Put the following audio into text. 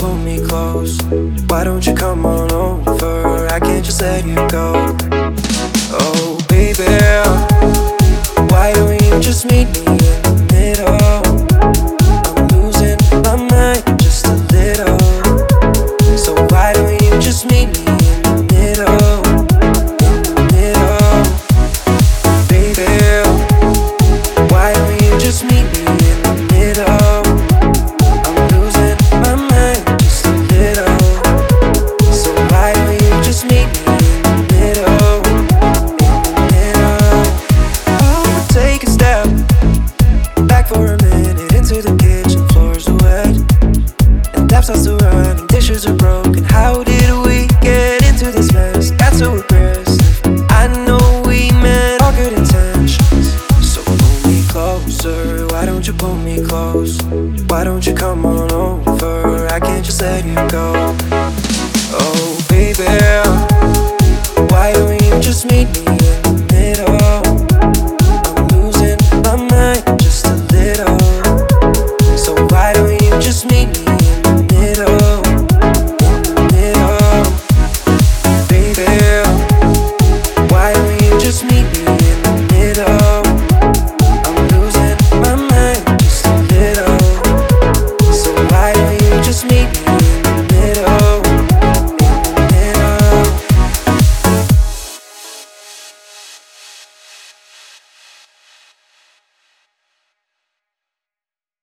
pull me close? Why don't you come on over? I can't just let you go. Oh baby, why don't you just meet me in the middle? I'm losing my mind just a little. So why don't you just meet me in the middle? In the middle, baby. Why don't you just meet me in the middle? I'm losing my mind just a little. So why don't you just meet me in the middle? In the middle. Oh, take a step back for a minute into the kitchen. Floors are wet and tap starts to run and dishes are broken. How did we get into this mess? Got so aggressive. I know we meant all good intentions. So pull me closer. Why don't you pull me close? Why don't you come on over? I can't just let you go. Oh baby, why don't you just meet me